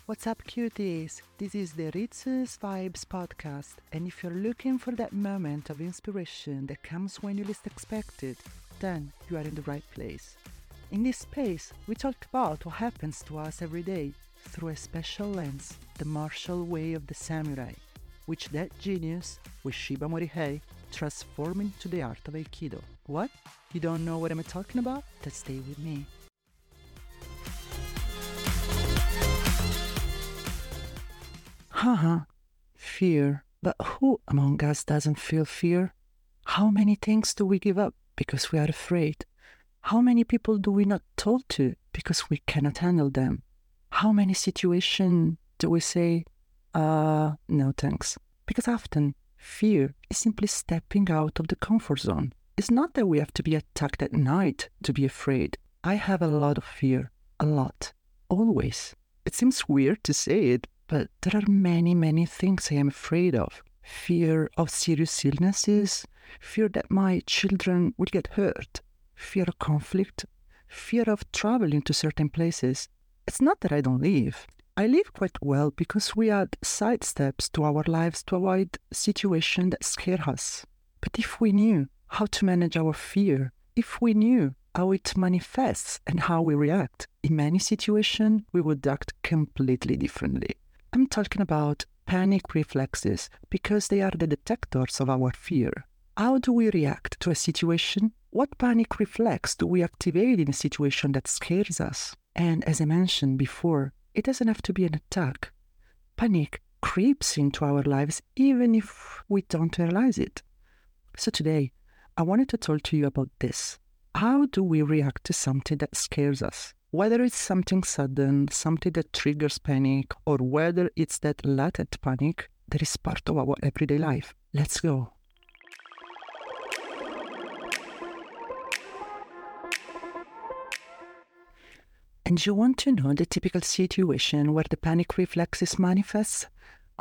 What's up, cuties? This is the Ritz's Vibes podcast, and if you're looking for that moment of inspiration that comes when you least expect it, then you are in the right place. In this space, we talk about what happens to us every day through a special lens, the martial way of the samurai, which that genius, with Shiba Morihei, transformed into the art of Aikido. What? You don't know what I'm talking about? Then stay with me. Haha, fear. But who among us doesn't feel fear? How many things do we give up because we are afraid? How many people do we not talk to because we cannot handle them? How many situations do we say, no thanks? Because often, fear is simply stepping out of the comfort zone. It's not that we have to be attacked at night to be afraid. I have a lot of fear. A lot. Always. It seems weird to say it, but there are many things I am afraid of. Fear of serious illnesses, fear that my children will get hurt, fear of conflict, fear of traveling to certain places. It's not that I don't live. I live quite well because we add side steps to our lives to avoid situations that scare us. But if we knew how to manage our fear, if we knew how it manifests and how we react, in many situations we would act completely differently. I'm talking about panic reflexes because they are the detectors of our fear. How do we react to a situation? What panic reflex do we activate in a situation that scares us? And as I mentioned before, it doesn't have to be an attack. Panic creeps into our lives even if we don't realize it. So today, I wanted to talk to you about this. How do we react to something that scares us? Whether it's something sudden, something that triggers panic, or whether it's that latent panic that is part of our everyday life. Let's go. And you want to know the typical situation where the panic reflexes manifest?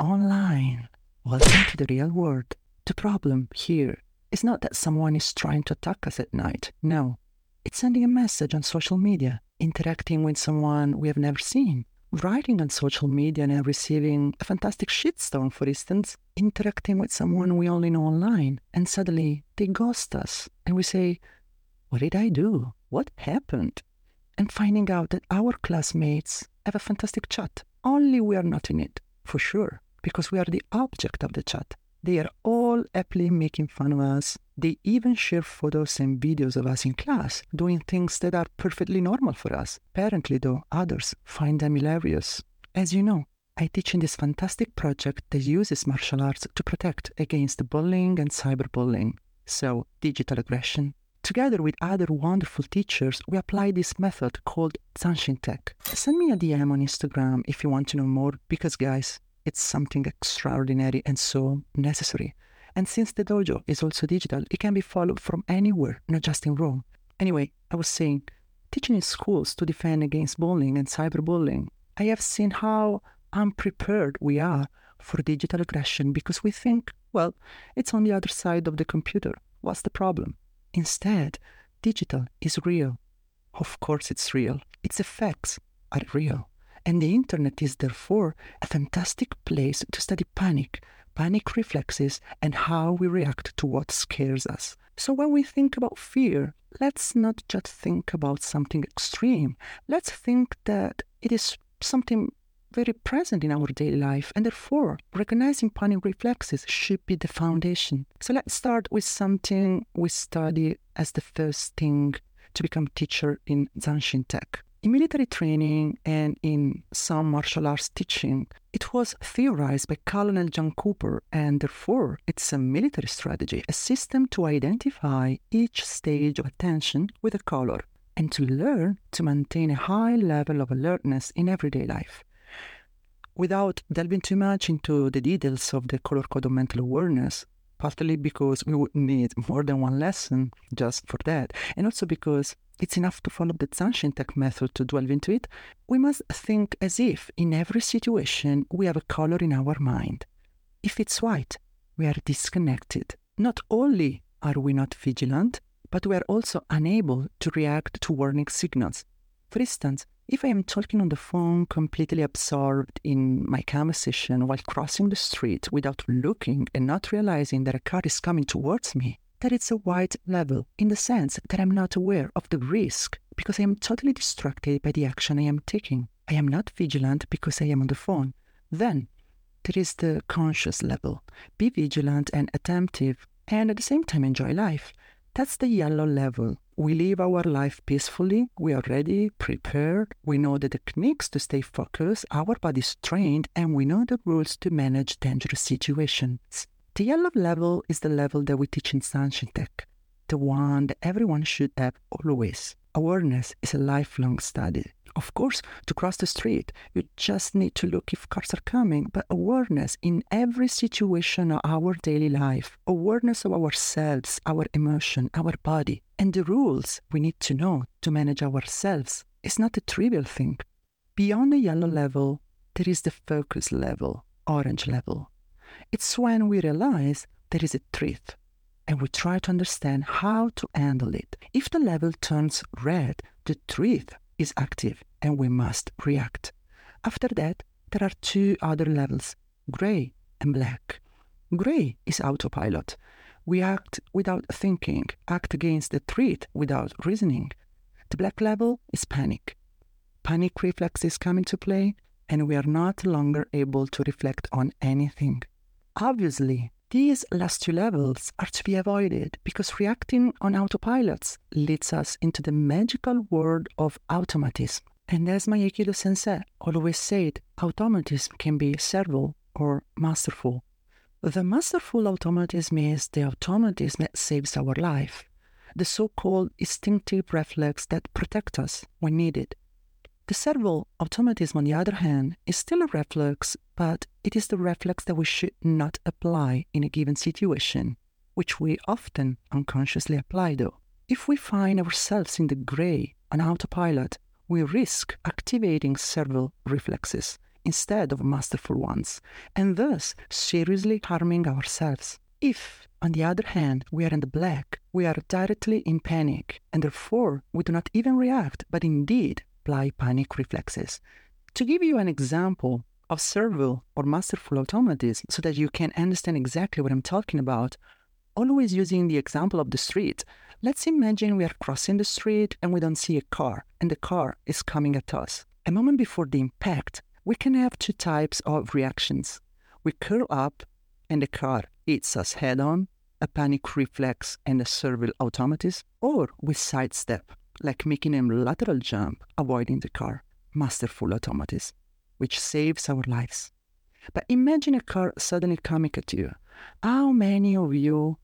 Online. Welcome to the real world. The problem here is not that someone is trying to attack us at night. No. It's sending a message on social media, interacting with someone we have never seen, writing on social media and receiving a fantastic shitstorm, for instance, interacting with someone we only know online, and suddenly they ghost us, and we say, what did I do? What happened? And finding out that our classmates have a fantastic chat, only we are not in it, for sure, because we are the object of the chat. They are all happily making fun of us. They even share photos and videos of us in class, doing things that are perfectly normal for us. Apparently, though, others find them hilarious. As you know, I teach in this fantastic project that uses martial arts to protect against bullying and cyberbullying, so digital aggression. Together with other wonderful teachers, we apply this method called Zanshin Tech. Send me a DM on Instagram if you want to know more, because guys, it's something extraordinary and so necessary. And since the dojo is also digital, it can be followed from anywhere, not just in Rome. Anyway, I was saying, teaching in schools to defend against bullying and cyberbullying, I have seen how unprepared we are for digital aggression because we think, well, it's on the other side of the computer. What's the problem? Instead, digital is real. Of course it's real. Its effects are real. And the internet is therefore a fantastic place to study panic reflexes, and how we react to what scares us. So when we think about fear, let's not just think about something extreme. Let's think that it is something very present in our daily life, and therefore recognizing panic reflexes should be the foundation. So let's start with something we study as the first thing to become teacher in Zanshin Tech. In military training and in some martial arts teaching, it was theorized by Colonel John Cooper, and therefore it's a military strategy, a system to identify each stage of attention with a color, and to learn to maintain a high level of alertness in everyday life. Without delving too much into the details of the color code of mental awareness, partly because we would need more than one lesson just for that, and also because it's enough to follow the Zanshin Tech method to delve into it, we must think as if in every situation we have a color in our mind. If it's white, we are disconnected. Not only are we not vigilant, but we are also unable to react to warning signals. For instance, If I am talking on the phone, completely absorbed in my conversation while crossing the street without looking and not realizing that a car is coming towards me, that it's a white level in the sense that I'm not aware of the risk because I am totally distracted by the action I am taking. I am not vigilant because I am on the phone. Then there is the conscious level. Be vigilant and attentive and at the same time enjoy life. That's the yellow level. We live our life peacefully, we are ready, prepared, we know the techniques to stay focused, our body is trained, and we know the rules to manage dangerous situations. The yellow level is the level that we teach in Sunshine Tech, the one that everyone should have always. Awareness is a lifelong study. Of course, to cross the street, you just need to look if cars are coming, but awareness in every situation of our daily life, awareness of ourselves, our emotion, our body, and the rules we need to know to manage ourselves is not a trivial thing. Beyond the yellow level, there is the focus level, orange level. It's when we realize there is a threat and we try to understand how to handle it. If the level turns red, the threat is active and we must react. After that, there are two other levels, gray and black. Gray is autopilot. We act without thinking, act against the threat without reasoning. The black level is panic. Panic reflexes come into play and we are not longer able to reflect on anything. Obviously, these last two levels are to be avoided because reacting on autopilots leads us into the magical world of automatism. And as my Aikido sensei always said, automatism can be servile or masterful. The masterful automatism is the automatism that saves our life, the so-called instinctive reflex that protects us when needed. The servile automatism, on the other hand, is still a reflex, but it is the reflex that we should not apply in a given situation, which we often unconsciously apply though. If we find ourselves in the gray on autopilot, we risk activating servile reflexes instead of masterful ones, and thus seriously harming ourselves. If, on the other hand, we are in the black, we are directly in panic, and therefore we do not even react, but indeed apply panic reflexes. To give you an example of servile or masterful automatism so that you can understand exactly what I'm talking about, always using the example of the street, let's imagine we are crossing the street and we don't see a car, and the car is coming at us. A moment before the impact, we can have two types of reactions. We curl up and the car hits us head-on, a panic reflex and a servile automatism, or we sidestep, like making a lateral jump, avoiding the car, masterful automatism, which saves our lives. But imagine a car suddenly coming at you. How many of you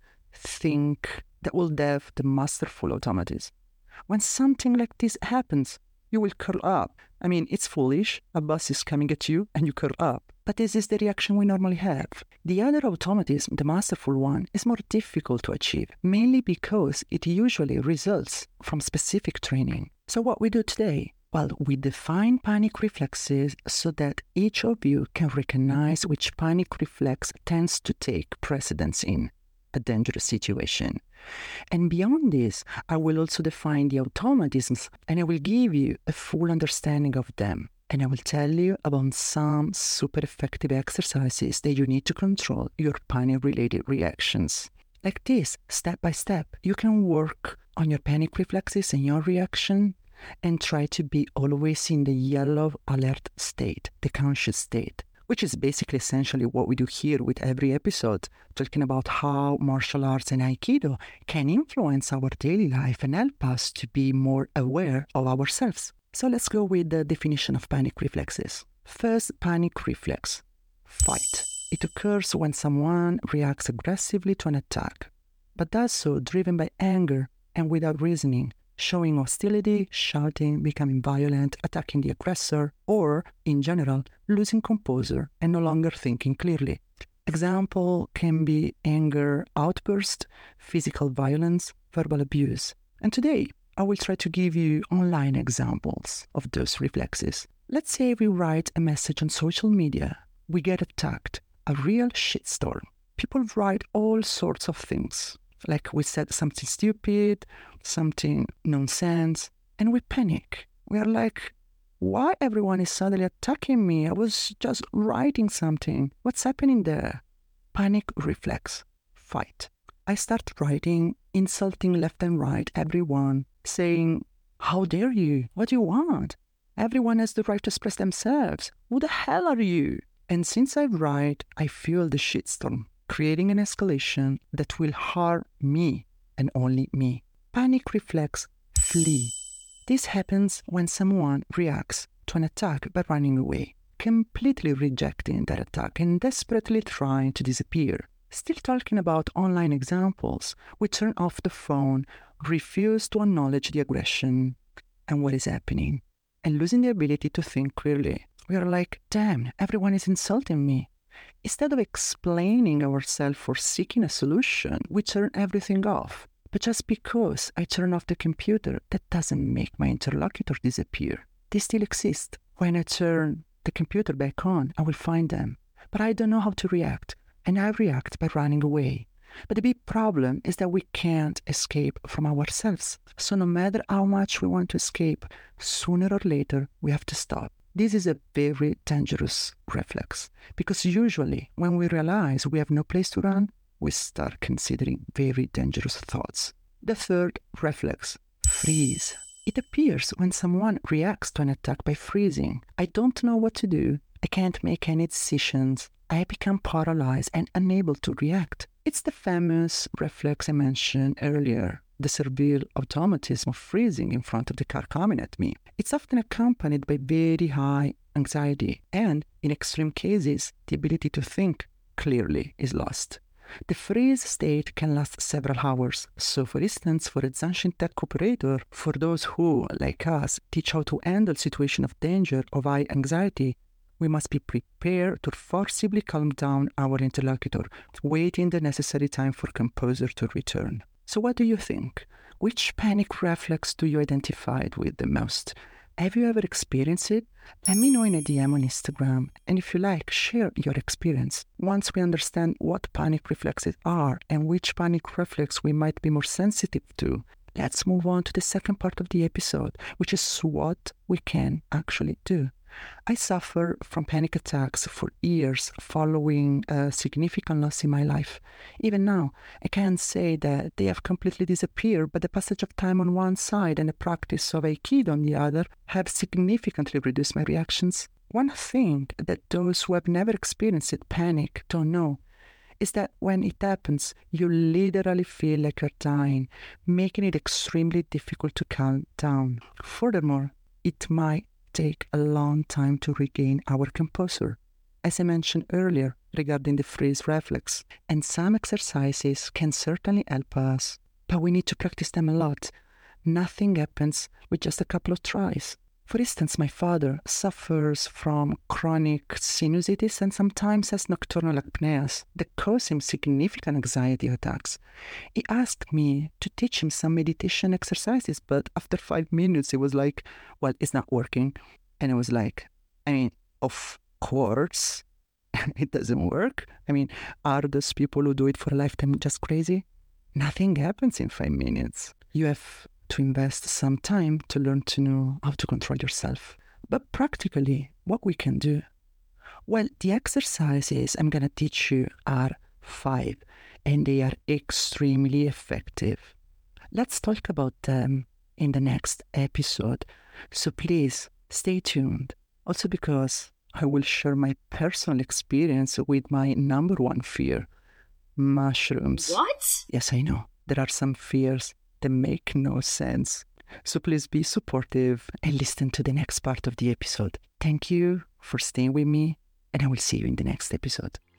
think that will have the masterful automatism? When something like this happens, you will curl up. I mean, it's foolish. A bus is coming at you and you curl up. But this is the reaction we normally have. The other automatism, the masterful one, is more difficult to achieve, mainly because it usually results from specific training. So what we do today? Well, we define panic reflexes so that each of you can recognize which panic reflex tends to take precedence in a dangerous situation. And beyond this, I will also define the automatisms and I will give you a full understanding of them. And I will tell you about some super effective exercises that you need to control your panic-related reactions. Like this, step by step, you can work on your panic reflexes and your reaction and try to be always in the yellow alert state, the conscious state, which is basically essentially what we do here with every episode, talking about how martial arts and Aikido can influence our daily life and help us to be more aware of ourselves. So let's go with the definition of panic reflexes. First, panic reflex, fight. It occurs when someone reacts aggressively to an attack, but does so driven by anger and without reasoning, showing hostility, shouting, becoming violent, attacking the aggressor, or, in general, losing composure and no longer thinking clearly. Example can be anger outburst, physical violence, verbal abuse. And today, I will try to give you online examples of those reflexes. Let's say we write a message on social media. We get attacked, a real shitstorm. People write all sorts of things. Like we said something stupid, something nonsense, and we panic. We are like, why everyone is suddenly attacking me? I was just writing something. What's happening there? Panic reflex. Fight. I start writing, insulting left and right everyone, saying, how dare you? What do you want? Everyone has the right to express themselves. Who the hell are you? And since I write, I fuel the shitstorm, creating an escalation that will harm me and only me. Panic reflex. Flee. This happens when someone reacts to an attack by running away, completely rejecting that attack and desperately trying to disappear. Still talking about online examples, we turn off the phone, refuse to acknowledge the aggression and what is happening, and losing the ability to think clearly. We are like, damn, everyone is insulting me. Instead of explaining ourselves or seeking a solution, we turn everything off. But just because I turn off the computer, that doesn't make my interlocutor disappear. They still exist. When I turn the computer back on, I will find them. But I don't know how to react, and I react by running away. But the big problem is that we can't escape from ourselves. So no matter how much we want to escape, sooner or later, we have to stop. This is a very dangerous reflex, because usually when we realize we have no place to run, we start considering very dangerous thoughts. The third reflex, freeze. It appears when someone reacts to an attack by freezing. I don't know what to do. I can't make any decisions. I become paralyzed and unable to react. It's the famous reflex I mentioned earlier, the servile automatism of freezing in front of the car coming at me. It's often accompanied by very high anxiety, and in extreme cases, the ability to think clearly is lost. The freeze state can last several hours. So for instance, for a Zanshin tech operator, for those who, like us, teach how to handle situations of danger or high anxiety, we must be prepared to forcibly calm down our interlocutor, waiting the necessary time for composure to return. So what do you think? Which panic reflex do you identify with the most? Have you ever experienced it? Let me know in a DM on Instagram, and if you like, share your experience. Once we understand what panic reflexes are and which panic reflex we might be more sensitive to, let's move on to the second part of the episode, which is what we can actually do. I suffer from panic attacks for years following a significant loss in my life. Even now, I can't say that they have completely disappeared, but the passage of time on one side and the practice of Aikido on the other have significantly reduced my reactions. One thing that those who have never experienced panic don't know is that when it happens, you literally feel like you're dying, making it extremely difficult to calm down. Furthermore, it might take a long time to regain our composure, as I mentioned earlier regarding the freeze reflex, and some exercises can certainly help us, but we need to practice them a lot. Nothing happens with just a couple of tries. For instance, my father suffers from chronic sinusitis and sometimes has nocturnal apneas that cause him significant anxiety attacks. He asked me to teach him some meditation exercises, but after 5 minutes, he was like, well, it's not working. And I was like, of course, it doesn't work. Are those people who do it for a lifetime just crazy? Nothing happens in 5 minutes. You have to invest some time to learn to know how to control yourself. But practically, what we can do? Well, the exercises I'm going to teach you are 5, and they are extremely effective. Let's talk about them in the next episode. So please, stay tuned. Also because I will share my personal experience with my number one fear, mushrooms. What? Yes, I know. There are some fears that make no sense. So please be supportive and listen to the next part of the episode. Thank you for staying with me, and I will see you in the next episode.